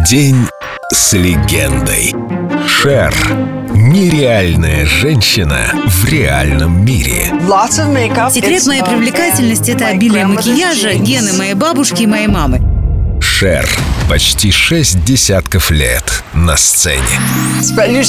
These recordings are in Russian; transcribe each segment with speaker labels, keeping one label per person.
Speaker 1: День с легендой. Шер. Нереальная женщина в реальном мире.
Speaker 2: Секрет моей привлекательности — это обилие макияжа, гены моей бабушки и моей мамы.
Speaker 1: Шер. Почти 6 десятков лет на сцене.
Speaker 2: Да, я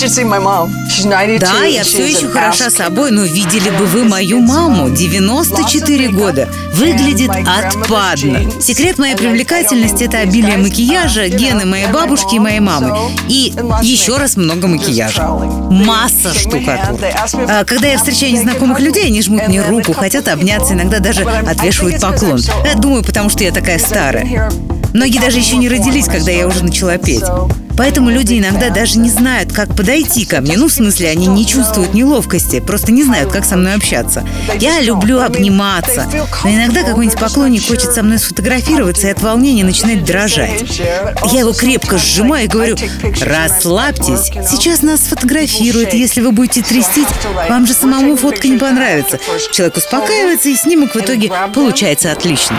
Speaker 2: все еще хороша собой, но видели бы вы мою маму, 94 года. Выглядит отпадно. Секрет моей привлекательности — это обилие макияжа, гены моей бабушки и моей мамы. И еще раз много макияжа. Масса штукатур. Когда я встречаю незнакомых людей, они жмут мне руку, хотят обняться, иногда даже отвешивают поклон. Я думаю, потому что я такая старая. Многие даже еще не родились, когда я уже начала петь. Поэтому люди иногда даже не знают, как подойти ко мне. Ну, в смысле, они не чувствуют неловкости, просто не знают, как со мной общаться. Я люблю обниматься, но иногда какой-нибудь поклонник хочет со мной сфотографироваться и от волнения начинает дрожать. Я его крепко сжимаю и говорю: расслабьтесь, сейчас нас сфотографируют, если вы будете трястись, вам же самому фотка не понравится. Человек успокаивается, и снимок в итоге получается отлично.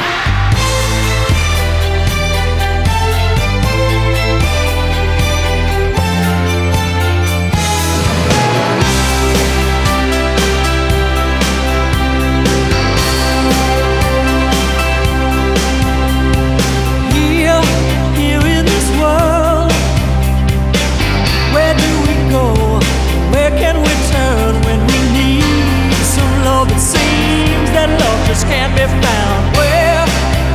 Speaker 3: Can't be found. Where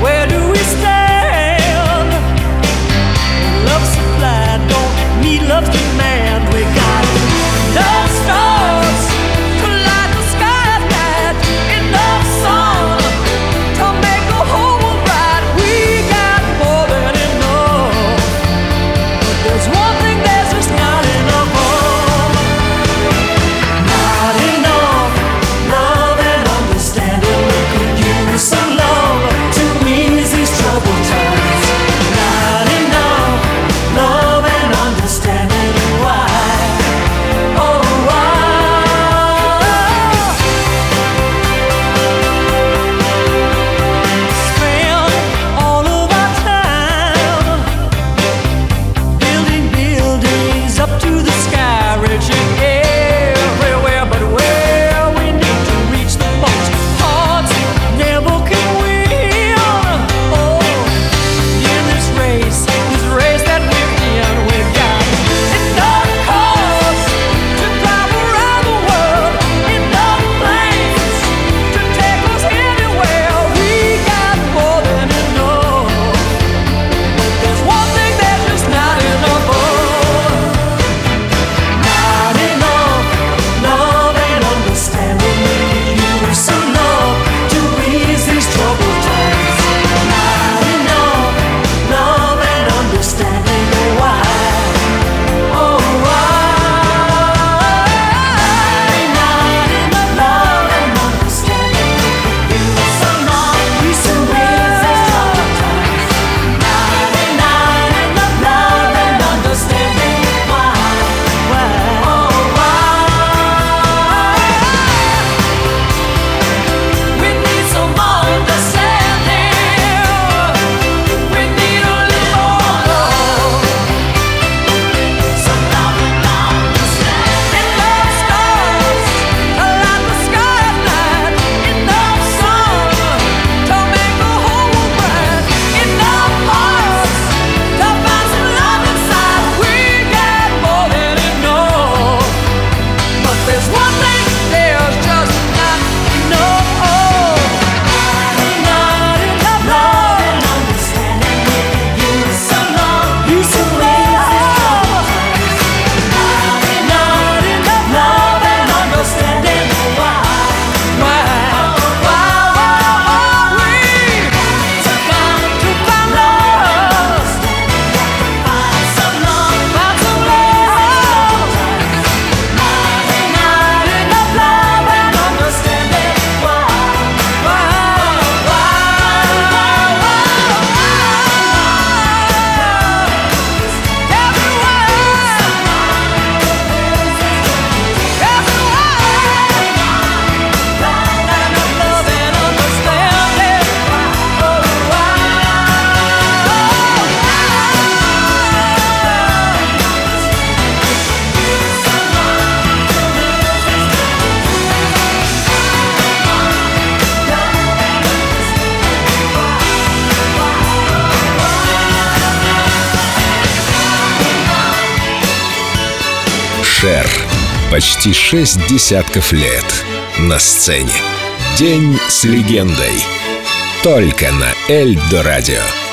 Speaker 1: Шер. Почти 6 десятков лет на сцене. День с легендой. Только на Эльдо радио.